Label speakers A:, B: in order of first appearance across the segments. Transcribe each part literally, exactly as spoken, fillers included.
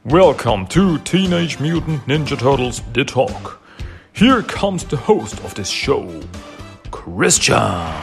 A: Welcome to Teenage Mutant Ninja Turtles The Talk. Here comes the host of this show, Christian.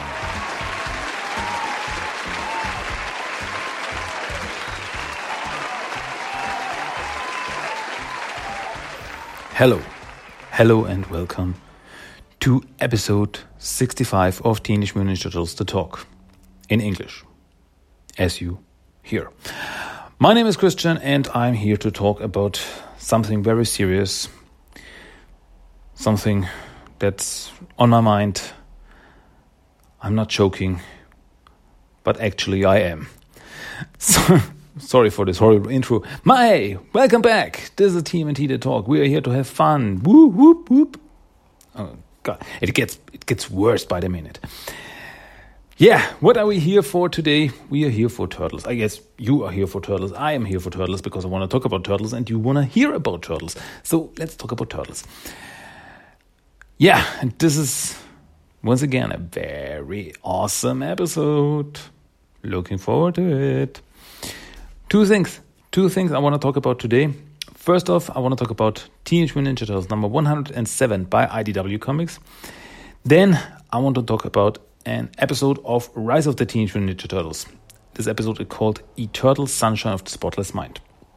B: Hello, hello and welcome to episode sixty-five of Teenage Mutant Ninja Turtles The Talk in English, as you hear. My name is Christian and I'm here to talk about something very serious, something that's on my mind. I'm not joking, but actually I am. So, sorry for this horrible intro. My, welcome back. This is T M N T The Talk. We are here to have fun. Whoop, whoop, whoop. Oh God, it gets it gets worse by the minute. Yeah, what are we here for today? We are here for turtles. I guess you are here for turtles. I am here for turtles because I want to talk about turtles and you want to hear about turtles. So let's talk about turtles. Yeah, and this is, once again, a very awesome episode. Looking forward to it. Two things. Two things I want to talk about today. First off, I want to talk about Teenage Mutant Ninja Turtles number one hundred seven by I D W Comics. Then I want to talk about an episode of Rise of the Teenage Mutant Ninja Turtles. This episode is called Eternal Sunshine of the Spotless Mind.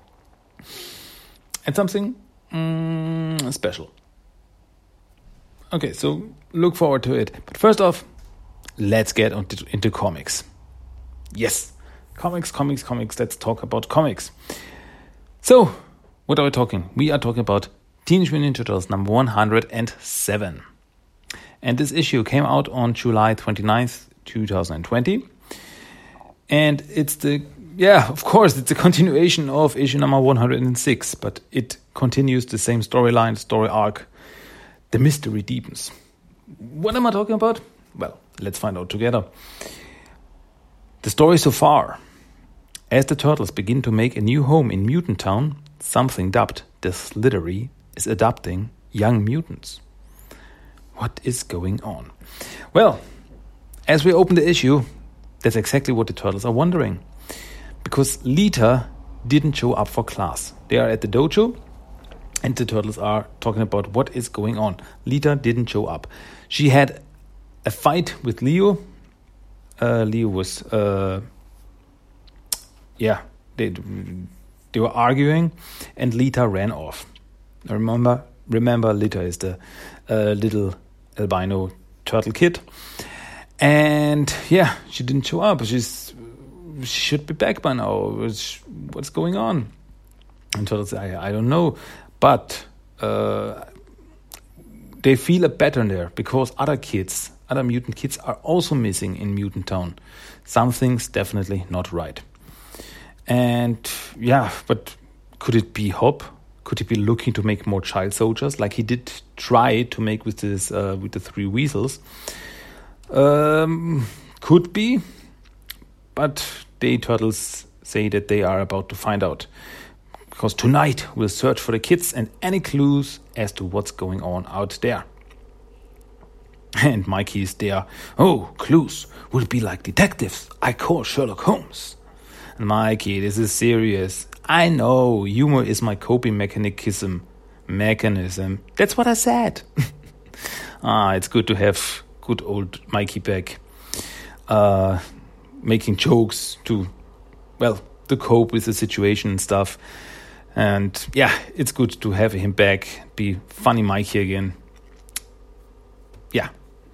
B: And something mm, special. Okay, so look forward to it. But first off, let's get into, into comics. Yes, comics, comics, comics. Let's talk about comics. So, what are we talking? We are talking about Teenage Mutant Ninja Turtles number one hundred seven. And this issue came out on July twenty-ninth, twenty twenty. And it's the, yeah, of course, it's a continuation of issue number one hundred six, but it continues the same storyline, story arc. The mystery deepens. What am I talking about? Well, let's find out together. The story so far. As the Turtles begin to make a new home in Mutant Town, something dubbed the Slithery is adopting young mutants. What is going on? Well, as we open the issue, that's exactly what the Turtles are wondering. Because Lita didn't show up for class. They are at the dojo, and the Turtles are talking about what is going on. Lita didn't show up. She had a fight with Leo. Uh, Leo was, uh, yeah, they they were arguing, and Lita ran off. Remember, remember, Lita is the uh, little albino turtle kid, and yeah, she didn't show up. She's she should be back by now. What's, what's going on? And Turtles say, I, I don't know, but uh, they feel a pattern there because other kids, other mutant kids, are also missing in Mutant Town. Something's definitely not right. And yeah, but could it be Hop? Could he be looking to make more child soldiers, like he did try to make with this uh, with the three weasels? Um, could be, but the Turtles say that they are about to find out. Because tonight we'll search for the kids and any clues as to what's going on out there. And Mikey is there. Oh, clues will be like detectives. I call Sherlock Holmes. And Mikey, this is serious. I know, humor is my coping mechanism. Mechanism. That's what I said. ah, it's good to have good old Mikey back. Uh, making jokes to, well, to cope with the situation and stuff. And yeah, it's good to have him back. Be funny Mikey again. Yeah.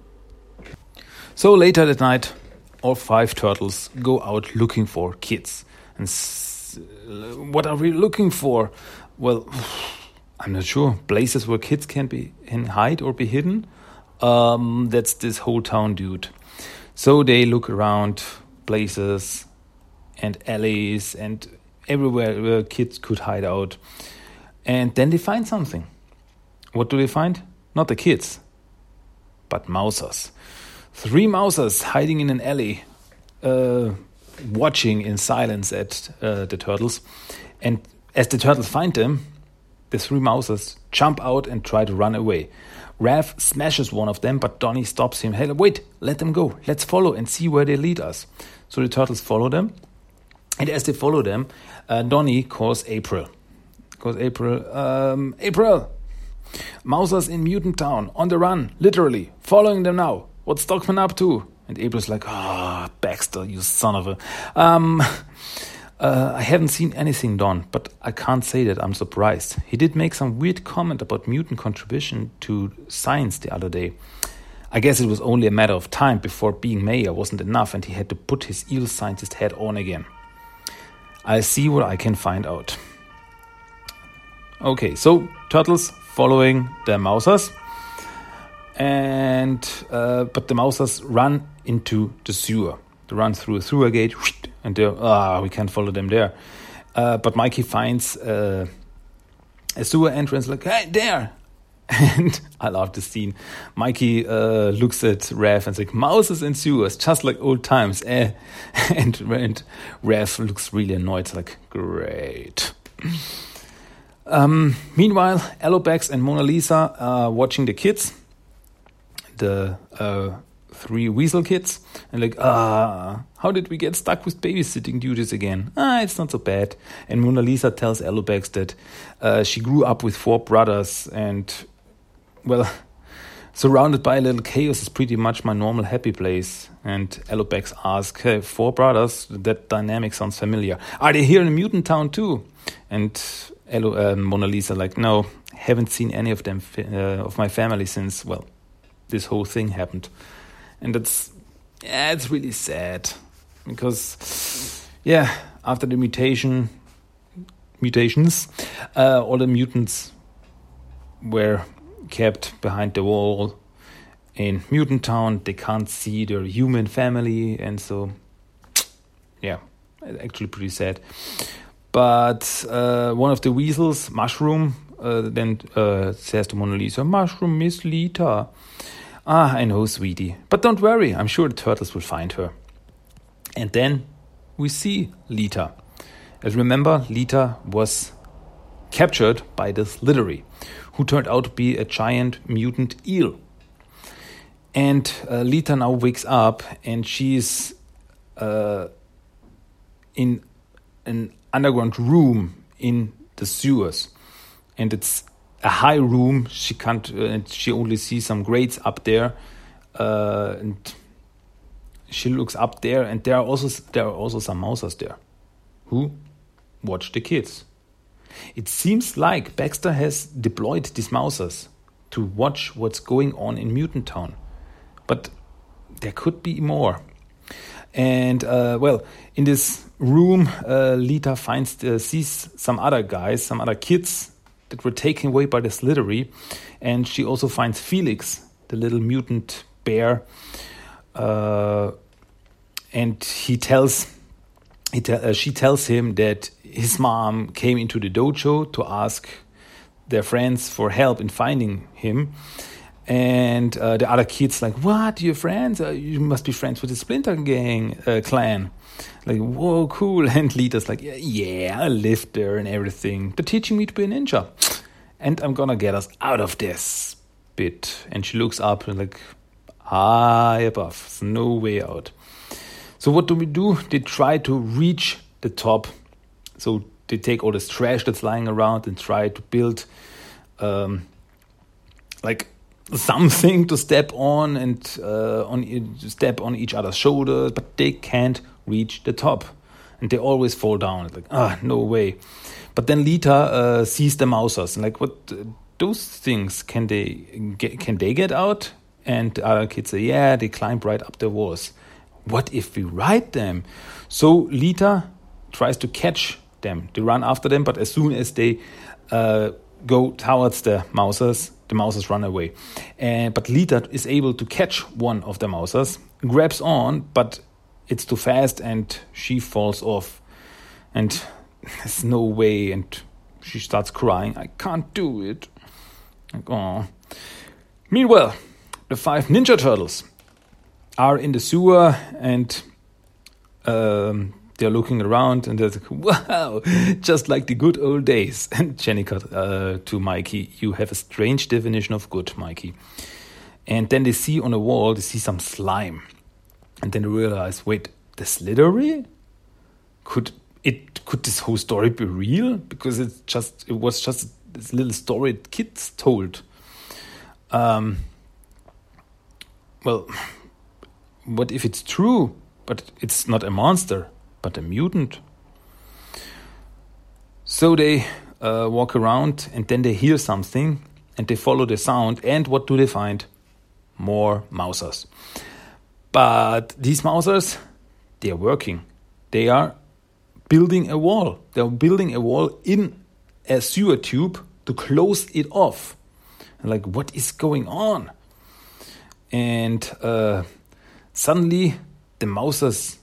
B: So later that night, all five turtles go out looking for kids. And s- what are we looking for? Well, I'm not sure. Places where kids can be can hide or be hidden. Um, that's this whole town, dude. So they look around places and alleys and everywhere where kids could hide out. And then they find something. What do they find? Not the kids, but mousers. Three mousers hiding in an alley, uh, watching in silence at uh, the turtles. And as the turtles find them, the three mousers jump out and try to run away. Raph smashes one of them, but Donnie stops him. Hey, wait, let them go. Let's follow and see where they lead us. So the turtles follow them. And as they follow them, uh, Donnie calls April. goes April. Um, April! Mousers in Mutant Town, on the run, literally, following them now. What's Stockman up to? And April's like, ah, oh, Baxter, you son of a... Um, uh, I haven't seen anything, Don, but I can't say that I'm surprised. He did make some weird comment about mutant contribution to science the other day. I guess it was only a matter of time before being mayor wasn't enough and he had to put his eel scientist hat on again. I'll see what I can find out. Okay, so turtles following the mousers. And uh, but the mousers run into the sewer. They run through a sewer gate, and they're ah, we can't follow them there. Uh, but Mikey finds uh, a sewer entrance, like, hey, there. And I love the scene. Mikey uh, looks at Raph and is like, mousers and sewers, just like old times. Eh? and, and Raph looks really annoyed, like, great. Um, meanwhile, Alopex and Mona Lisa are watching the kids. The uh, three weasel kids, and like, ah, how did we get stuck with babysitting duties again? Ah, it's not so bad. And Mona Lisa tells Alopex that uh, she grew up with four brothers, and, well, surrounded by a little chaos is pretty much my normal happy place. And Alopex asks, hey, four brothers, that dynamic sounds familiar. Are they here in Mutant Town too? And Elo, uh, Mona Lisa like, no, haven't seen any of them, uh, of my family since, well, this whole thing happened. And it's, yeah, it's really sad. Because, yeah, after the mutation, mutations, uh, all the mutants were kept behind the wall in Mutant Town. They can't see their human family. And so, yeah, actually pretty sad. But uh, one of the weasels, Mushroom, uh, then uh, says to Mona Lisa, Mushroom, Miss Lita. Ah, I know, sweetie. But don't worry, I'm sure the turtles will find her. And then we see Lita. As remember, Lita was captured by the Slithery, who turned out to be a giant mutant eel. And uh, Lita now wakes up and she's uh, in an underground room in the sewers. And it's a high room. She can't. Uh, she only sees some grates up there, uh, and she looks up there, and there are also there are also some mousers there, who watch the kids. It seems like Baxter has deployed these mousers to watch what's going on in Mutant Town, but there could be more. And uh, well, in this room, uh, Lita finds uh, sees some other guys, some other kids that were taken away by the Slithery, and she also finds Felix, the little mutant bear, uh, and he tells, he te- uh, she tells him that his mom came into the dojo to ask their friends for help in finding him, and uh, the other kids like, what, your friends? Uh, you must be friends with the Splinter Gang uh, clan. Like, whoa, cool. And Lita's like, yeah, yeah, I lived there and everything. They're teaching me to be a ninja. And I'm gonna get us out of this bit. And she looks up and like, high above. There's no way out. So what do we do? They try to reach the top. So they take all this trash that's lying around and try to build um, like something to step on and uh, on step on each other's shoulders, but they can't reach the top, and they always fall down. It's like, ah, no way. But then Lita uh, sees the mousers and like, what? Uh, those things, can they get, can they get out? And the other kids say, yeah, they climb right up the walls. What if we ride them? So Lita tries to catch them. They run after them, but as soon as they uh, go towards the mousers, the mousers run away. And but Lita is able to catch one of the mousers, grabs on, but it's too fast and she falls off. And there's no way, and she starts crying. I can't do it. Like, oh. Meanwhile, the five Ninja Turtles are in the sewer, and um, they're looking around, and they're like, wow, just like the good old days. And Jennica uh, to Mikey, you have a strange definition of good, Mikey. And then they see on a wall, they see some slime. And then they realize, wait, the Slithery? Could it what could this whole story be real? Because it's just it was just this little story kids told. Um, well, what if it's true, but it's not a monster, but a mutant? So they uh, walk around, and then they hear something, and they follow the sound, and what do they find? More Mousers. But these Mousers, they are working. They are building a wall. They are building a wall in a sewer tube to close it off. Like, what is going on? And uh, suddenly, the Mousers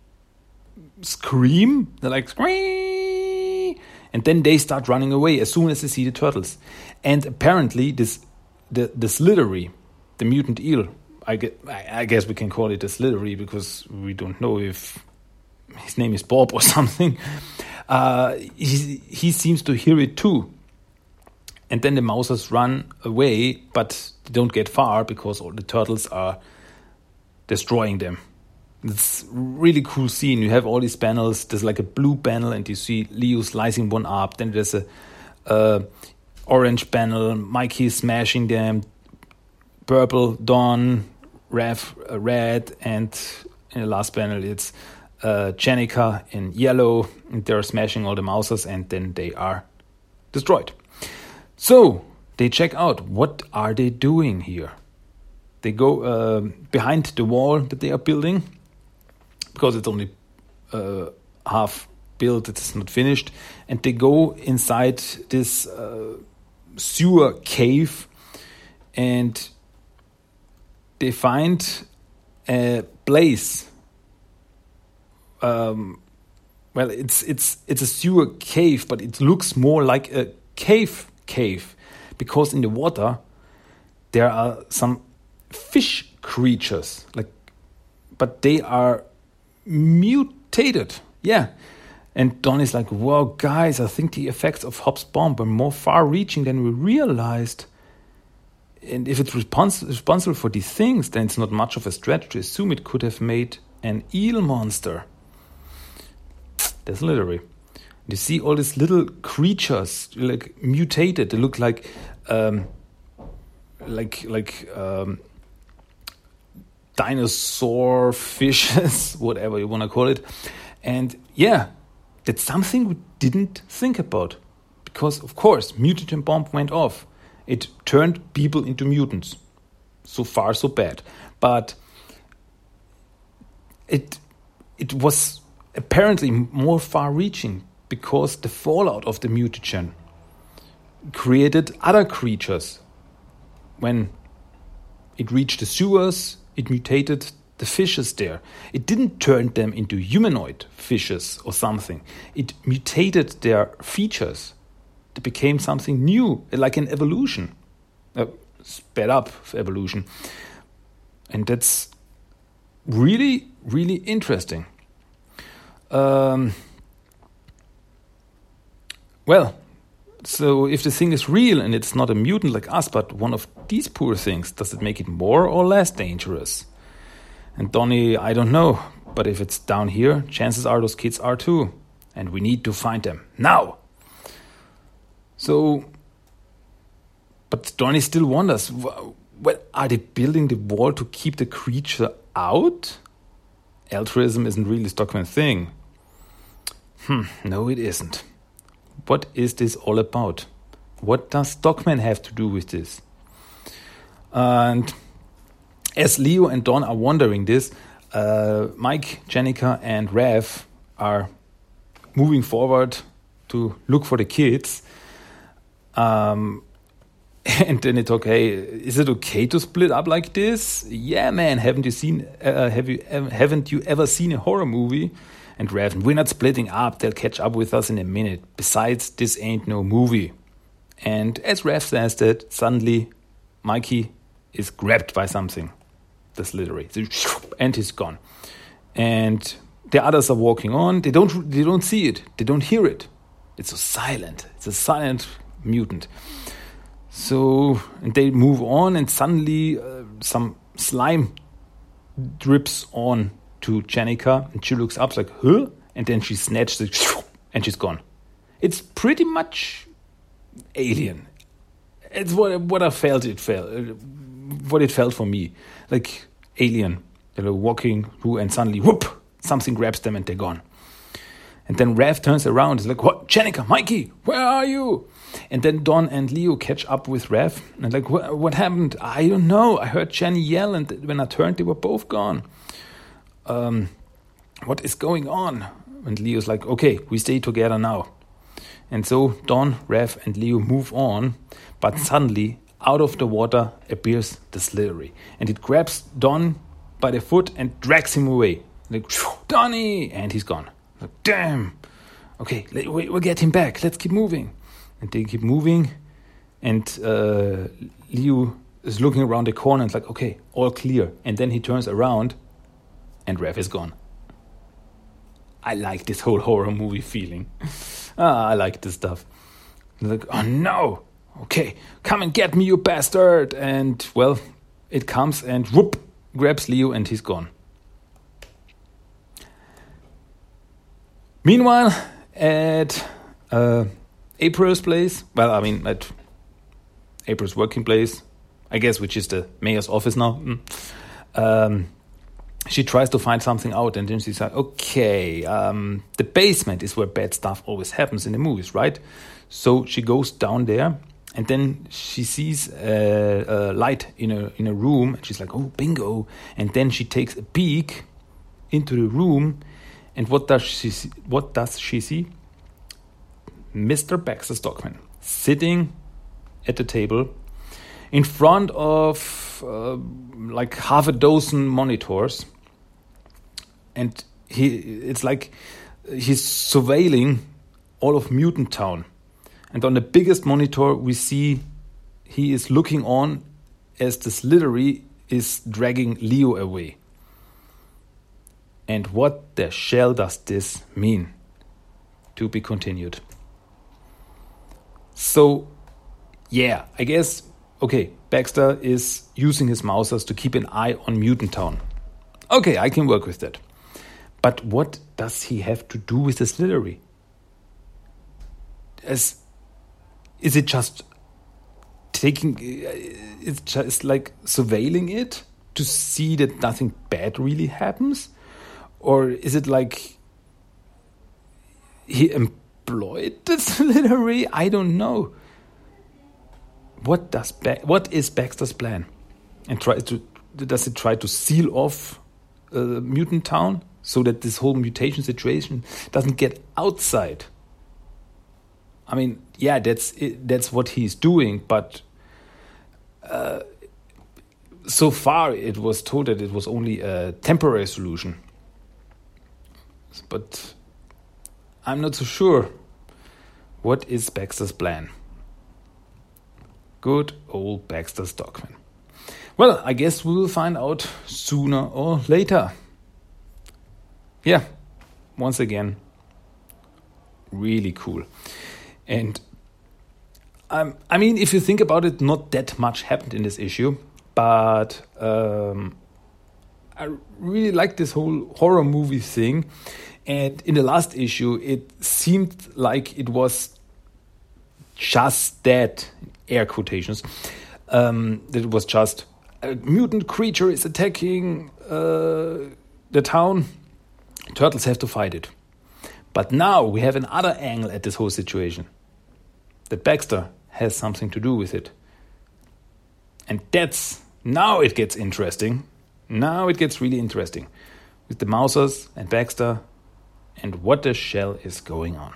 B: scream. They're like, scream! And then they start running away as soon as they see the turtles. And apparently, this the, the Slithery, the mutant eel, I, get, I guess we can call it a Slithery because we don't know if his name is Bob or something. Uh, he, he seems to hear it too. And then the Mousers run away, but they don't get far because all the turtles are destroying them. It's a really cool scene. You have all these panels. There's like a blue panel, and you see Leo slicing one up. Then there's a uh, orange panel, Mikey smashing them. Purple, Dawn, Rev, uh, red, and in the last panel it's uh, Jennika in yellow. And they're smashing all the Mousers, and then they are destroyed. So they check out, what are they doing here? They go uh, behind the wall that they are building, because it's only uh, half built, it's not finished, and they go inside this uh, sewer cave, and they find a place. Um, well, it's it's it's a sewer cave, but it looks more like a cave. cave because in the water there are some fish creatures, like, but they are mutated. Yeah. And Don is like, whoa, guys, I think the effects of Hobbs' bomb are more far-reaching than we realized. And if it's respons- responsible for these things, then it's not much of a stretch to assume it could have made an eel monster. That's literally. You see all these little creatures, like mutated. They look like, um, like like um, dinosaur fishes, whatever you want to call it. And yeah, that's something we didn't think about, because of course, mutagen bomb went off. It turned people into mutants. So far, so bad. But it it was apparently more far-reaching, because the fallout of the mutagen created other creatures. When it reached the sewers, it mutated the fishes there. It didn't turn them into humanoid fishes or something. It mutated their features. They became something new, like an evolution. Uh, sped up evolution. And that's really, really interesting. Um... Well, so if the thing is real and it's not a mutant like us, but one of these poor things, does it make it more or less dangerous? And Donnie, I don't know, but if it's down here, chances are those kids are too. And we need to find them now. So, but Donnie still wonders, well, are they building the wall to keep the creature out? Altruism isn't really a Stockman thing. Hmm, no, it isn't. What is this all about? What does Stockman have to do with this? And as Leo and Don are wondering this, uh, Mike, Jennika, and Rev are moving forward to look for the kids. Um, and then they talk, hey, is it okay to split up like this? Yeah, man, haven't you seen? Uh, have you? Haven't you ever seen a horror movie? And Rev, we're not splitting up. They'll catch up with us in a minute. Besides, this ain't no movie. And as Rev says that, suddenly Mikey is grabbed by something. That's literally, and he's gone. And the others are walking on. They don't. They don't see it. They don't hear it. It's so silent. It's a silent mutant. So and they move on, and suddenly uh, some slime drips on to Jennika, and she looks up like, huh? And then she snatches it and she's gone. It's pretty much Alien. It's what what I felt it felt, what it felt for me, like Alien. They're walking through, and suddenly, whoop, something grabs them, and they're gone. And then Raph turns around. He's like, "What, Jennica, Mikey, where are you?" And then Don and Leo catch up with Raph, and like, "What, what happened? I don't know. I heard Jenny yell, and when I turned, they were both gone. Um, what is going on?" And Leo's like, "Okay, we stay together now." And so Don, Raph, and Leo move on, but suddenly, out of the water appears the Slithery, and it grabs Don by the foot and drags him away. Like, "Donnie!" And he's gone. Like, damn. Okay, we'll get him back. Let's keep moving. And they keep moving, and uh, Leo is looking around the corner and it's like, okay, all clear. And then he turns around, and Raph is gone. I like this whole horror movie feeling. ah, I like this stuff. Like, oh no, okay, come and get me, you bastard. And, well, it comes and whoop, grabs Leo, and he's gone. Meanwhile, at uh, April's place, well, I mean, at April's working place, I guess, which is the mayor's office now, um, she tries to find something out, and then she's like, okay, um, the basement is where bad stuff always happens in the movies, right? So she goes down there, and then she sees a, a light in a, in a room, and she's like, oh, bingo. And then she takes a peek into the room, and what does she see? What does she see? Mister Baxter Stockman sitting at the table in front of uh, like half a dozen monitors, and he it's like he's surveilling all of Mutant Town. And on the biggest monitor, we see he is looking on as the Slithery is dragging Leo away. And what the shell does this mean? To be continued. So, yeah, I guess, okay, Baxter is using his mousers to keep an eye on Mutant Town. Okay, I can work with that. But what does he have to do with the Slithery? As, is it just taking, it's just like surveilling it to see that nothing bad really happens? Or is it like he employed the Slithery? I don't know. What does ba- what is Baxter's plan? And try to does it try to seal off uh, Mutant Town so that this whole mutation situation doesn't get outside? I mean, yeah, that's it, that's what he's doing, but uh, so far it was told that it was only a temporary solution. But I'm not so sure. What is Baxter's plan? Good old Baxter Stockman. Well, I guess we will find out sooner or later. Yeah, once again, really cool. And um, I mean, if you think about it, not that much happened in this issue, but um, I really like this whole horror movie thing. And in the last issue, it seemed like it was just that, air quotations, um, that it was just a mutant creature is attacking uh, the town. Turtles have to fight it. But now we have another angle at this whole situation. That Baxter has something to do with it. And that's, now it gets interesting. Now it gets really interesting. With the Mousers and Baxter and what the shell is going on.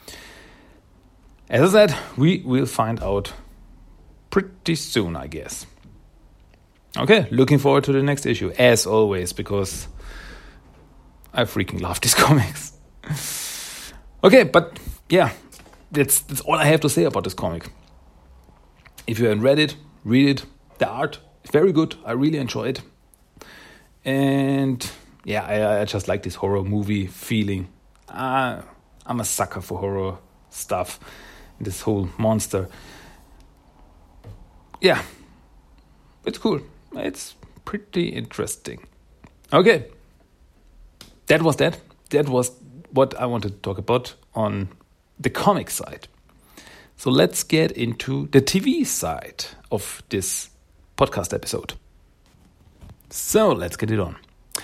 B: As I said, we will find out pretty soon, I guess. Okay, looking forward to the next issue, as always, because I freaking love these comics. Okay, but yeah, that's, that's all I have to say about this comic. If you haven't read it, read it. The art is very good. I really enjoy it. And yeah, I, I just like this horror movie feeling. Uh, I'm a sucker for horror stuff. This whole monster. Yeah, it's cool. It's pretty interesting. Okay, that was that. That was what I wanted to talk about on the comic side. So let's get into the T V side of this podcast episode. So let's get it on.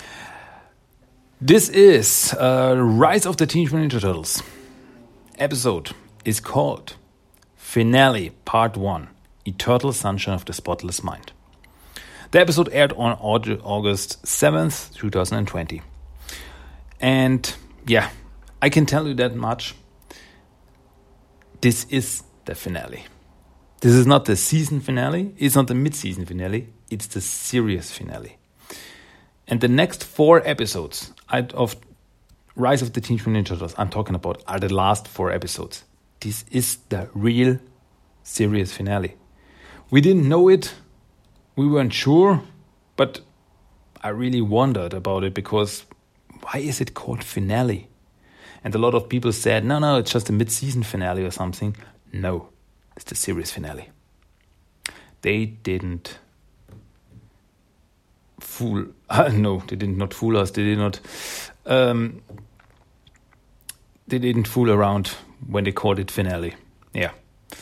B: This is uh, Rise of the Teenage Mutant Ninja Turtles. Episode is called Finale Part one, Eternal Sunshine of the Spotless Mind. The episode aired on August seventh, twenty twenty. And yeah, I can tell you that much. This is the finale. This is not the season finale. It's not the mid-season finale. It's the series finale. And the next four episodes of Rise of the Teenage Mutant Ninja Turtles I'm talking about are the last four episodes. This is the real series finale. We didn't know it. We weren't sure. But I really wondered about it because why is it called finale? And a lot of people said, no, no, it's just a mid-season finale or something. No, it's the series finale. They didn't fool... Uh, no, they did not fool us. They did not... Um, they didn't fool around when they called it finale. Yeah.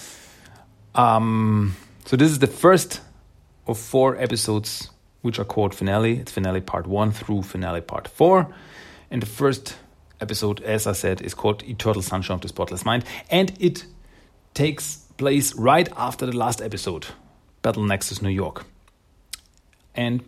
B: Um, so this is the first of four episodes which are called finale. It's finale part one through finale part four. And the first episode, as I said, is called Eternal Sunshine of the Spotless Mind. And it takes place right after the last episode, Battle Nexus New York. And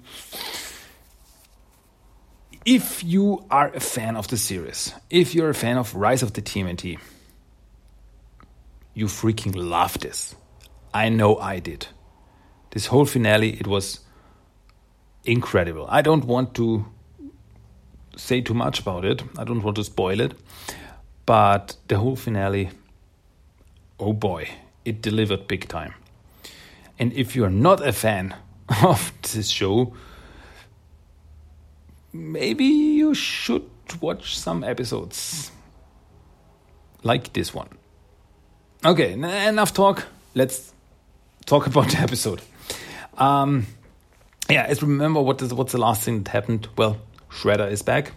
B: if you are a fan of the series, if you're a fan of Rise of the T M N T, you freaking love this. I know I did. This whole finale, it was incredible. I don't want to say too much about it. I don't want to spoil it. But the whole finale, oh boy, it delivered big time. And if you're not a fan of this show, maybe you should watch some episodes like this one. Okay, enough talk. Let's talk about the episode. Um, yeah, as remember what is what's the last thing that happened? Well, Shredder is back.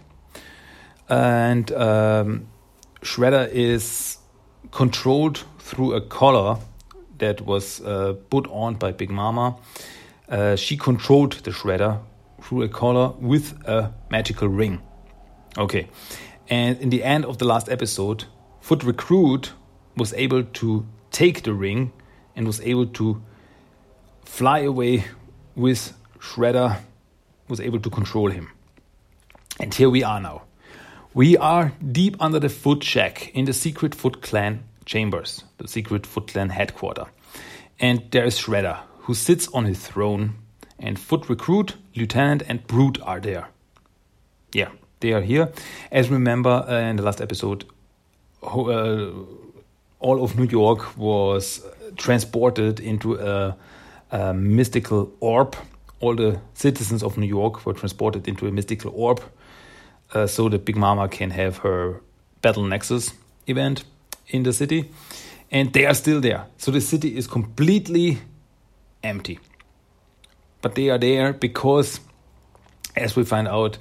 B: And um, Shredder is controlled through a collar that was uh, put on by Big Mama. Uh, she controlled the Shredder through a collar with a magical ring. Okay. And in the end of the last episode, Foot Recruit was able to take the ring and was able to fly away with Shredder, was able to control him. And here we are now. We are deep under the Foot Shack in the secret Foot Clan chambers, the secret Foot Clan headquarters. And there is Shredder, who sits on his throne, and Foot Recruit, Lieutenant, and Brute are there. Yeah, they are here. As remember uh, in the last episode, uh, all of New York was transported into a, a mystical orb. All the citizens of New York were transported into a mystical orb uh, so that Big Mama can have her Battle Nexus event in the city. And they are still there. So the city is completely empty. But they are there because, as we find out,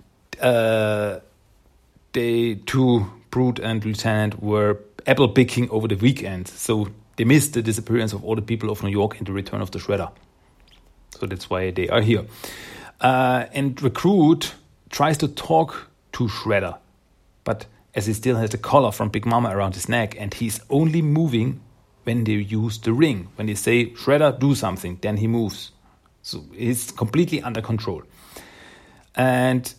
B: uh, they two, Brute and Lieutenant, were apple picking over the weekend. So they missed the disappearance of all the people of New York and the return of the Shredder. So that's why they are here. Uh, and Recruit tries to talk to Shredder. But as he still has the collar from Big Mama around his neck, and he's only moving when they use the ring. When they say, Shredder, do something, then he moves. So he's completely under control. And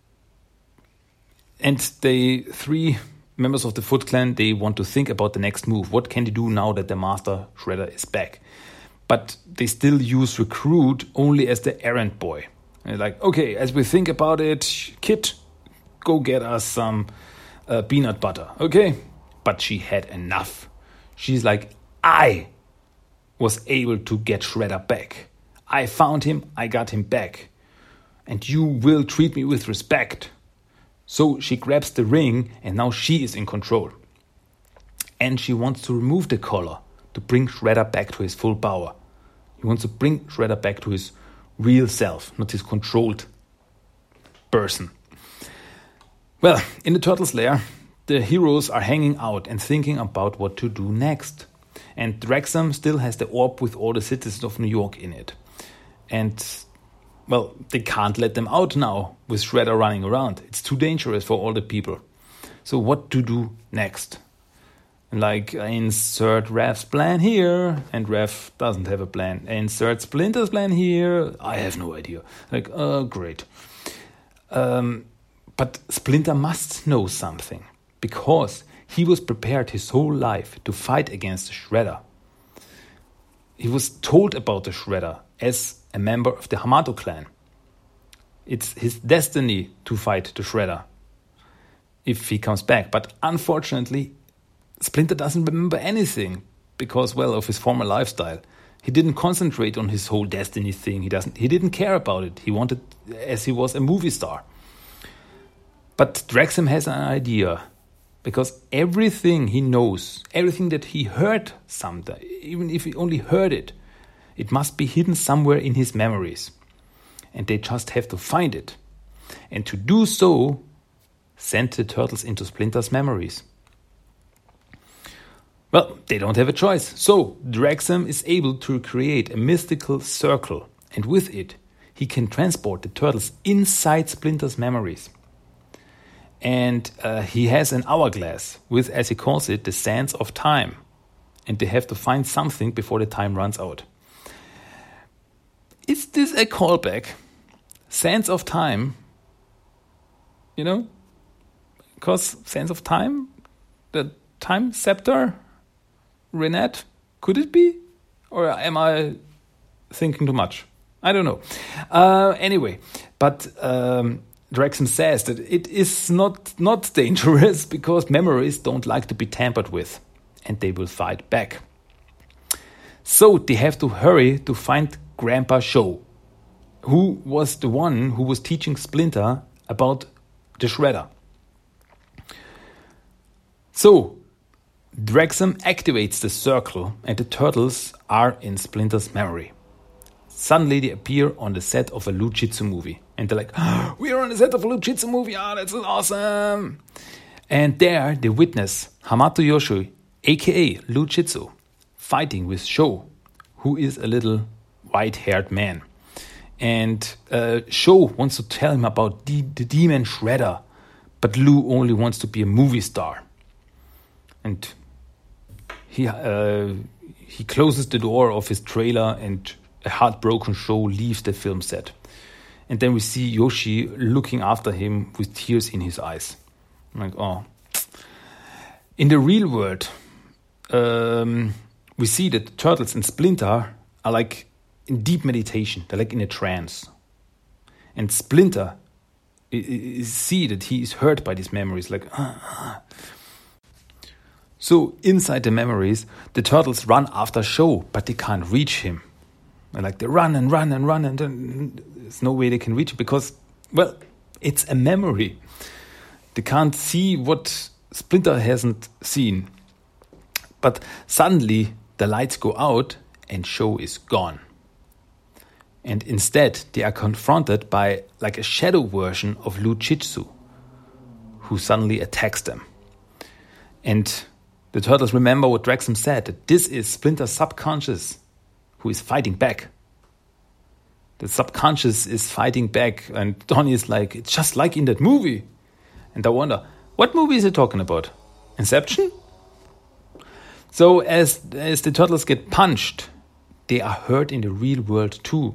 B: and the three members of the Foot Clan, they want to think about the next move. What can they do now that the Master Shredder is back? But they still use Recruit only as the errand boy. And they're like, okay, as we think about it, Kit, go get us some uh, peanut butter, okay? But she had enough. She's like, I was able to get Shredder back. I found him, I got him back. And you will treat me with respect. So she grabs the ring, and now she is in control. And she wants to remove the collar to bring Shredder back to his full power. He wants to bring Shredder back to his real self, not his controlled person. Well, in the Turtles' lair, the heroes are hanging out and thinking about what to do next. And Drexum still has the orb with all the citizens of New York in it. And, well, they can't let them out now with Shredder running around. It's too dangerous for all the people. So what to do next? Like, insert Raph's plan here, and Raph doesn't have a plan. Insert Splinter's plan here, I have no idea. Like, oh, great. Um, but Splinter must know something, because he was prepared his whole life to fight against the Shredder. He was told about the Shredder as a member of the Hamato clan. It's his destiny to fight the Shredder if he comes back. But unfortunately, Splinter doesn't remember anything because, well, of his former lifestyle. He didn't concentrate on his whole destiny thing. He doesn't. He didn't care about it. He wanted, as he was a movie star. But Drexum has an idea, because everything he knows, everything that he heard sometime, even if he only heard it, it must be hidden somewhere in his memories. And they just have to find it. And to do so, send the Turtles into Splinter's memories. Well, they don't have a choice. So, Drexum is able to create a mystical circle. And with it, he can transport the Turtles inside Splinter's memories. And uh, he has an hourglass with, as he calls it, the sands of time. And they have to find something before the time runs out. Is this a callback? Sands of time? You know? Because sands of time? The time scepter? Renette? Could it be? Or am I thinking too much? I don't know. Uh, anyway, but um, Drexum says that it is not, not dangerous because memories don't like to be tampered with, and they will fight back. So they have to hurry to find Grandpa Show, who was the one who was teaching Splinter about the Shredder. So Drexum activates the circle and the Turtles are in Splinter's memory. Suddenly they appear on the set of a Lou Jitsu movie. And they're like, oh, we are on the set of a Lou Jitsu movie. Ah, oh, that's awesome. And there they witness Hamato Yoshi, a k a. Lou Jitsu, fighting with Sho, who is a little white-haired man. And uh, Sho wants to tell him about the, the demon Shredder, but Lou only wants to be a movie star. And he uh, he closes the door of his trailer, and a heartbroken Sho leaves the film set. And then we see Yoshi looking after him with tears in his eyes. I'm like, oh. In the real world, um, we see that the Turtles and Splinter are like in deep meditation. They're like in a trance. And Splinter is see that he is hurt by these memories. Like, ah, ah. So inside the memories, the Turtles run after Sho, but they can't reach him. And like they run and run and run, and then there's no way they can reach it because, well, it's a memory. They can't see what Splinter hasn't seen. But suddenly the lights go out and Sho is gone. And instead they are confronted by like a shadow version of Lou Jitsu, who suddenly attacks them. And the Turtles remember what Drexum said, that this is Splinter's subconscious who is fighting back. The subconscious is fighting back, and Donnie is like, it's just like in that movie. And I wonder, what movie is he talking about? Inception? So as, as the Turtles get punched, they are hurt in the real world too.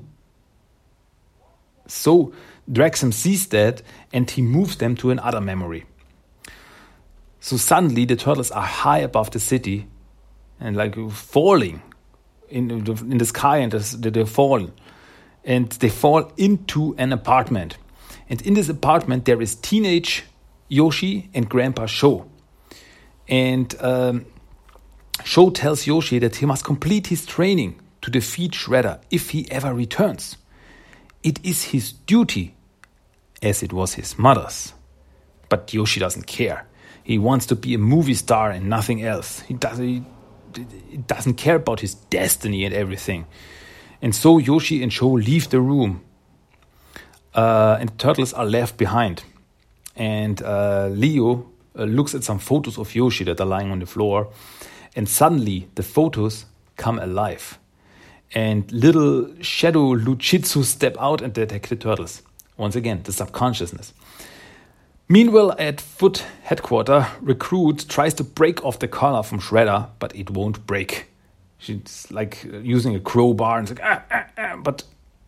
B: So Drexum sees that and he moves them to another memory. So suddenly the Turtles are high above the city and like falling in the, in the sky, and they fall. And they fall into an apartment. And in this apartment there is teenage Yoshi and Grandpa Sho. And um, Sho tells Yoshi that he must complete his training to defeat Shredder if he ever returns. It is his duty, as it was his mother's. But Yoshi doesn't care. He wants to be a movie star and nothing else. He doesn't, he, he doesn't care about his destiny and everything. And so Yoshi and Sho leave the room. Uh, and the Turtles are left behind. And uh, Leo uh, looks at some photos of Yoshi that are lying on the floor. And suddenly the photos come alive. And little shadow Luchitsu step out and attack the turtles. Once again, the subconsciousness. Meanwhile, at Foot headquarters, Recruit tries to break off the collar from Shredder, but it won't break. She's like using a crowbar and it's like, ah, ah, ah, but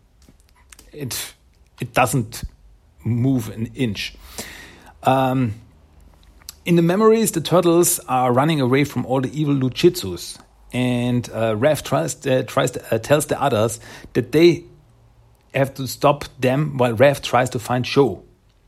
B: it it doesn't move an inch. Um, in the memories, the turtles are running away from all the evil Luchitsus, and uh, Raph tries uh, tries to, uh, tells the others that they have to stop them while Raph tries to find Sho,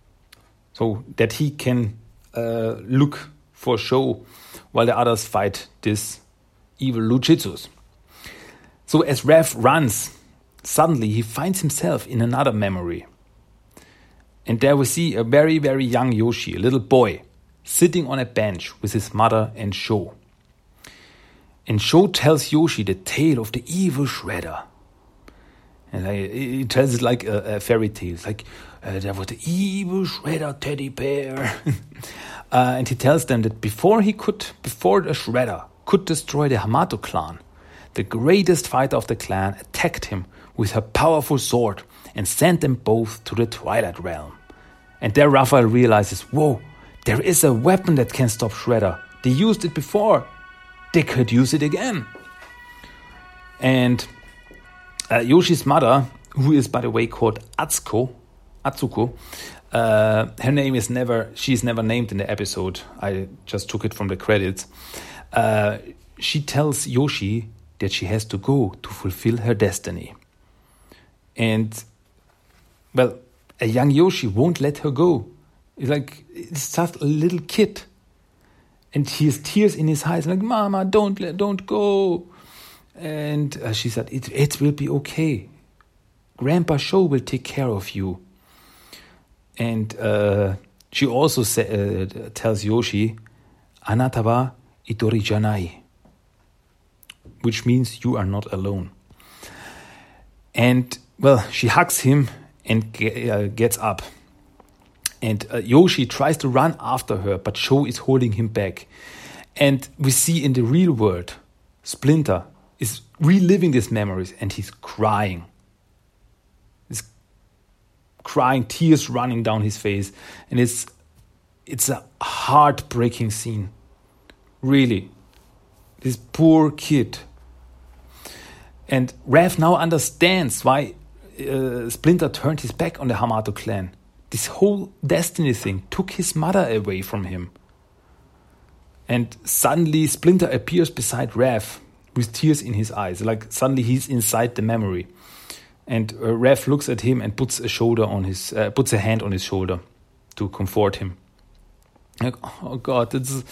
B: so that he can uh, look for Sho while the others fight this evil Luchitsus. So as Raph runs, suddenly he finds himself in another memory. And there we see a very, very young Yoshi, a little boy, sitting on a bench with his mother and Sho. And Sho tells Yoshi the tale of the evil Shredder. And he tells it like a, a fairy tale. It's like, uh, there was the evil Shredder teddy bear. uh, and he tells them that before he could, before the Shredder could destroy the Hamato clan, the greatest fighter of the clan attacked him with her powerful sword and sent them both to the Twilight Realm. And there Raphael realizes, whoa, there is a weapon that can stop Shredder. They used it before. They could use it again. And uh, Yoshi's mother, who is, by the way, called Atsuko, Atsuko, uh, her name is never, she's never named in the episode. I just took it from the credits. Uh, she tells Yoshi that she has to go to fulfill her destiny. And, well, a young Yoshi won't let her go. It's like, it's just a little kid. And he has tears in his eyes, like, Mama, don't let, don't go. And uh, she said, it, it will be okay. Grandpa Sho will take care of you. And uh, she also sa- uh, tells Yoshi, Anata wa itori janai, which means you are not alone. And, well, she hugs him and ge- uh, gets up. And uh, Yoshi tries to run after her, but Sho is holding him back. And we see in the real world, Splinter is reliving these memories and he's crying. He's crying, tears running down his face. And it's it's a heartbreaking scene. Really. This poor kid. And Raph now understands why uh, Splinter turned his back on the Hamato clan. This whole destiny thing took his mother away from him. And suddenly Splinter appears beside Raph with tears in his eyes. Like suddenly he's inside the memory. And uh, Raph looks at him and puts a shoulder on his, uh, puts a hand on his shoulder to comfort him. Like, oh God, it's.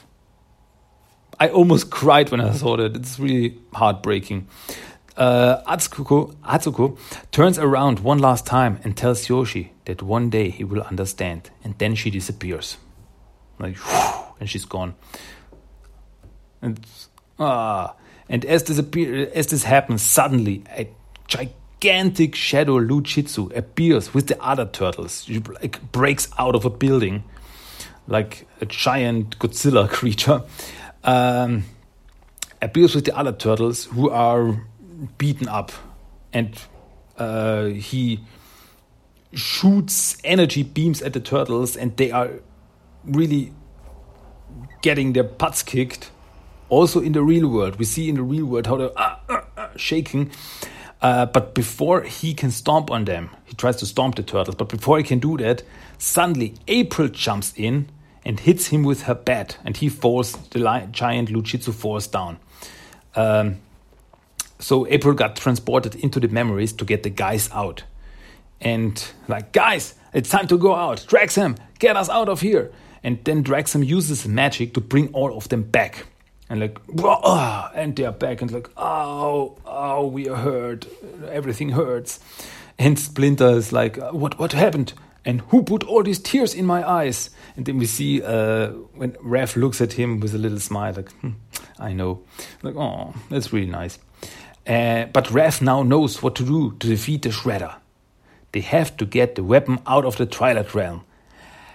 B: I almost cried when I saw that. It's really heartbreaking. Uh, Atsuko, Atsuko turns around one last time and tells Yoshi that one day he will understand. And then she disappears. Like, whew, and she's gone. And, ah, and as this, appear, as this happens, suddenly a gigantic shadow Luchitsu appears with the other turtles. She like, breaks out of a building like a giant Godzilla creature. Um, appears with the other turtles who are beaten up, and uh, he shoots energy beams at the turtles, and they are really getting their butts kicked. Also in the real world, we see in the real world how they're uh, uh, uh, shaking. Uh, but before he can stomp on them, he tries to stomp the turtles. But before he can do that, suddenly April jumps in and hits him with her bat, and he falls. The li- giant Luchitsu falls down. Um, So April got transported into the memories to get the guys out. And like, guys, it's time to go out. Draxam, get us out of here. And then Draxam uses magic to bring all of them back. And like, oh, and they're back. And like, oh, oh, we are hurt. Everything hurts. And Splinter is like, what, what happened? And who put all these tears in my eyes? And then we see uh, when Raph looks at him with a little smile, like, hm, I know. Like, oh, that's really nice. Uh, but Raph now knows what to do to defeat the Shredder. They have to get the weapon out of the Twilight Realm.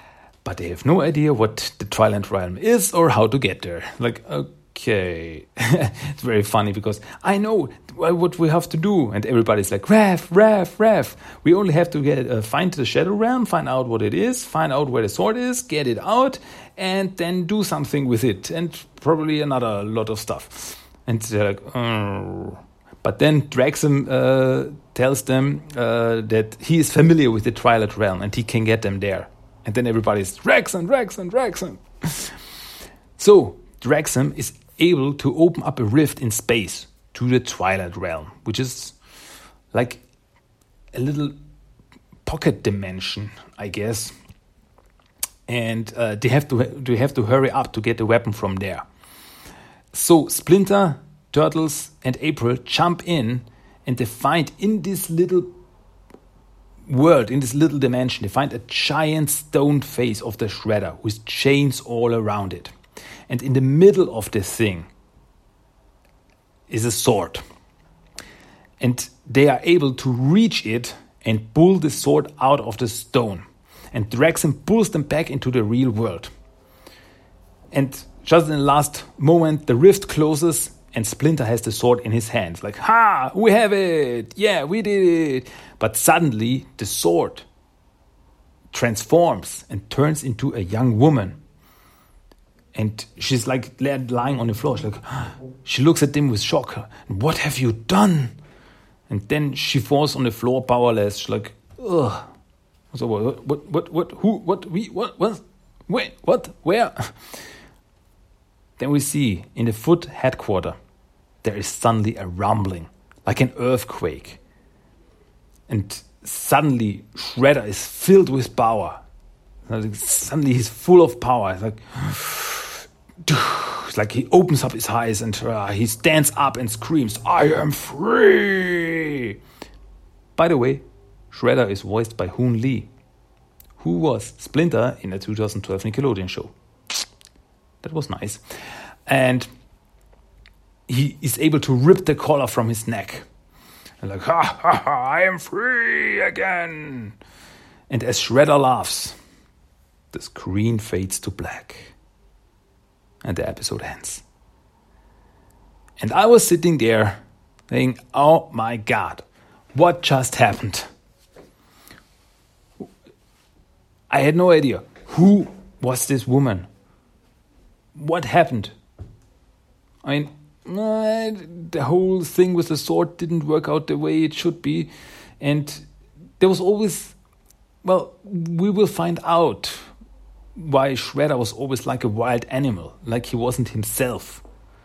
B: but they have no idea what the Twilight Realm is or how to get there. Like, okay. It's very funny because I know what we have to do. And everybody's like, Raph, Raph, Raph. We only have to get uh, find the Shadow Realm, find out what it is, find out where the sword is, get it out, and then do something with it. And probably another lot of stuff. And they're like, oh. But then Draxum uh, tells them uh, that he is familiar with the Twilight Realm and he can get them there. And then everybody's, Draxum, Draxum, Draxum. So Draxum is able to open up a rift in space to the Twilight Realm, which is like a little pocket dimension, I guess. And uh, they have to they have to hurry up to get the weapon from there. So Splinter, Turtles, and April jump in, and they find in this little world, in this little dimension, they find a giant stone face of the Shredder with chains all around it. And in the middle of this thing is a sword. And they are able to reach it and pull the sword out of the stone. And Draxum pulls them back into the real world. And just in the last moment, the rift closes and Splinter has the sword in his hands. Like, ha, we have it. Yeah, we did it. But suddenly the sword transforms and turns into a young woman. And she's like lying on the floor. She's like, she looks at him with shock. What have you done? And then she falls on the floor powerless. She's like, ugh. So what, what, what, what, who, what, we, what, what, wait, what, where? Then we see in the Foot headquarters, there is suddenly a rumbling, like an earthquake. And suddenly Shredder is filled with power. Suddenly he's full of power. It's like, it's like he opens up his eyes and uh, he stands up and screams, I am free! By the way, Shredder is voiced by Hoon Lee, who was Splinter in the two thousand twelve Nickelodeon show. That was nice. And he is able to rip the collar from his neck. And like, ha ha ha, I am free again. And as Shredder laughs, the screen fades to black. And the episode ends. And I was sitting there saying, oh my God, what just happened? I had no idea. Who was this woman? What happened? I mean, uh, the whole thing with the sword didn't work out the way it should be. And there was always, well, we will find out why Shredder was always like a wild animal, like he wasn't himself.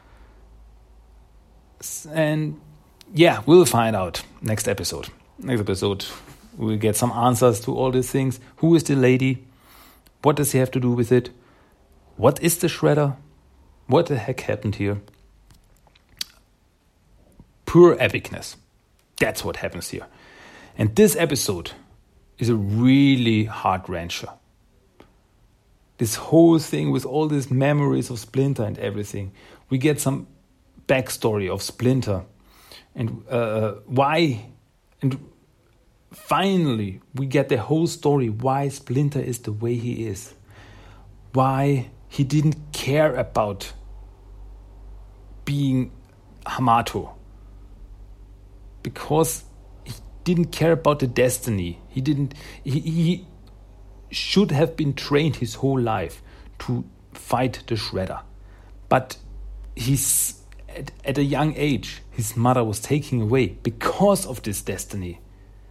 B: And yeah, we'll find out next episode. Next episode, we'll get some answers to all these things. Who is the lady? What does he have to do with it? What is the Shredder? What the heck happened here? Pure epicness. That's what happens here. And this episode is a really heart-wrencher. This whole thing with all these memories of Splinter and everything. We get some backstory of Splinter. And uh, why... And finally, we get the whole story why Splinter is the way he is. Why he didn't care about being Hamato. Because he didn't care about the destiny. He didn't. He, he should have been trained his whole life to fight the Shredder. But he's at, at a young age, his mother was taken away because of this destiny.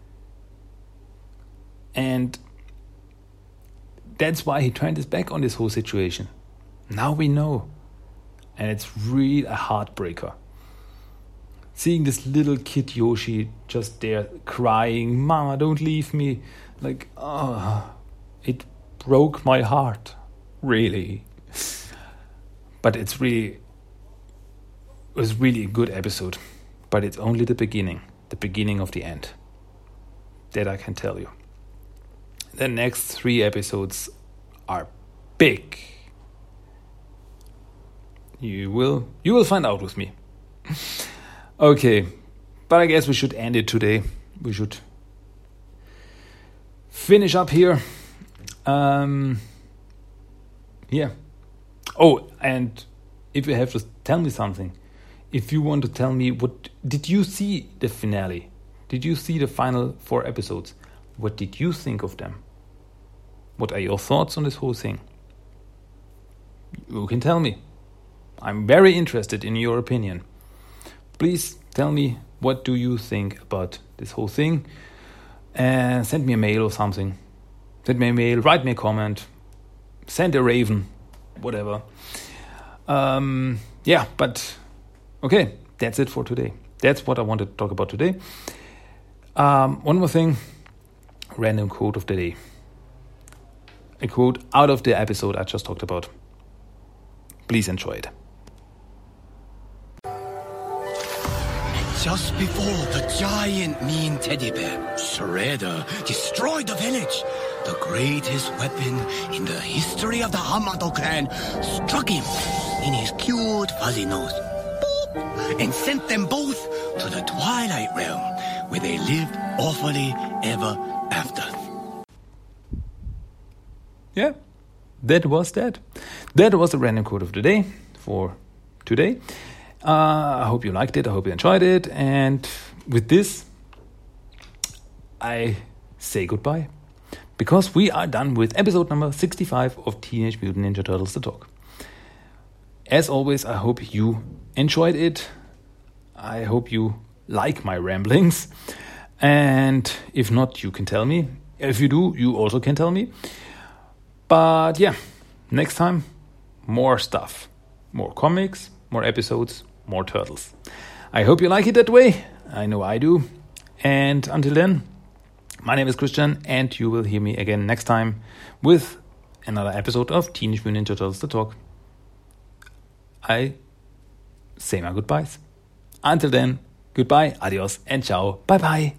B: And that's why he turned his back on this whole situation. Now we know. And it's really a heartbreaker. Seeing this little kid Yoshi just there crying, Mama, don't leave me. Like, oh, it broke my heart. Really. But it's really, it was really a good episode. But it's only the beginning. The beginning of the end. That I can tell you. The next three episodes are big. You will you will find out with me. Okay, but I guess we should end it today. We should finish up here. Um, Yeah. Oh, and if you have to tell me something, if you want to tell me what did you see the finale? Did you see the final four episodes? What did you think of them? What are your thoughts on this whole thing? You can tell me. I'm very interested in your opinion. Please tell me, what do you think about this whole thing? And send me a mail or something. Send me a mail, write me a comment, send a raven, whatever. Um, yeah, but okay, that's it for today. That's what I wanted to talk about today. Um, one more thing, random quote of the day. A quote out of the episode I just talked about. Please enjoy it.
C: Just before the giant mean teddy bear, Shredder, destroyed the village, the greatest weapon in the history of the Hamato clan struck him in his cute fuzzy nose, boop, and sent them both to the Twilight Realm, where they lived awfully ever after.
B: Yeah, that was that. That was the random quote of the day for today. Uh, I hope you liked it. I hope you enjoyed it. And with this, I say goodbye. Because we are done with episode number sixty-five of Teenage Mutant Ninja Turtles The Talk. As always, I hope you enjoyed it. I hope you like my ramblings. And if not, you can tell me. If you do, you also can tell me. But yeah, next time, more stuff. More comics, more episodes, more turtles. I hope you like it that way. I know I do. And until then, my name is Christian, and you will hear me again next time with another episode of Teenage Mutant Ninja Turtles The Talk. I say my goodbyes. Until then, goodbye, adios, and ciao. Bye-bye.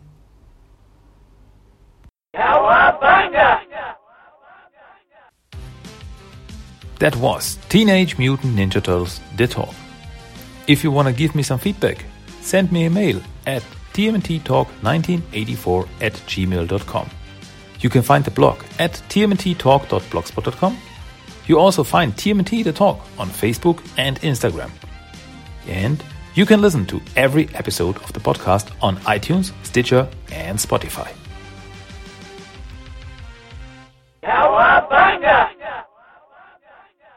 B: That was Teenage Mutant Ninja Turtles The Talk. If you want to give me some feedback, send me a mail at t m n t talk nineteen eighty-four at gmail dot com. You can find the blog at t m n t talk dot blogspot dot com. You also find T M N T The Talk on Facebook and Instagram. And you can listen to every episode of the podcast on iTunes, Stitcher, and Spotify.